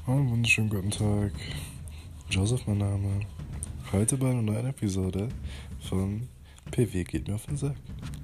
Einen wunderschönen guten Tag. Joseph, mein Name. Heute bei einer neuen Episode von PW geht mir auf den Sack.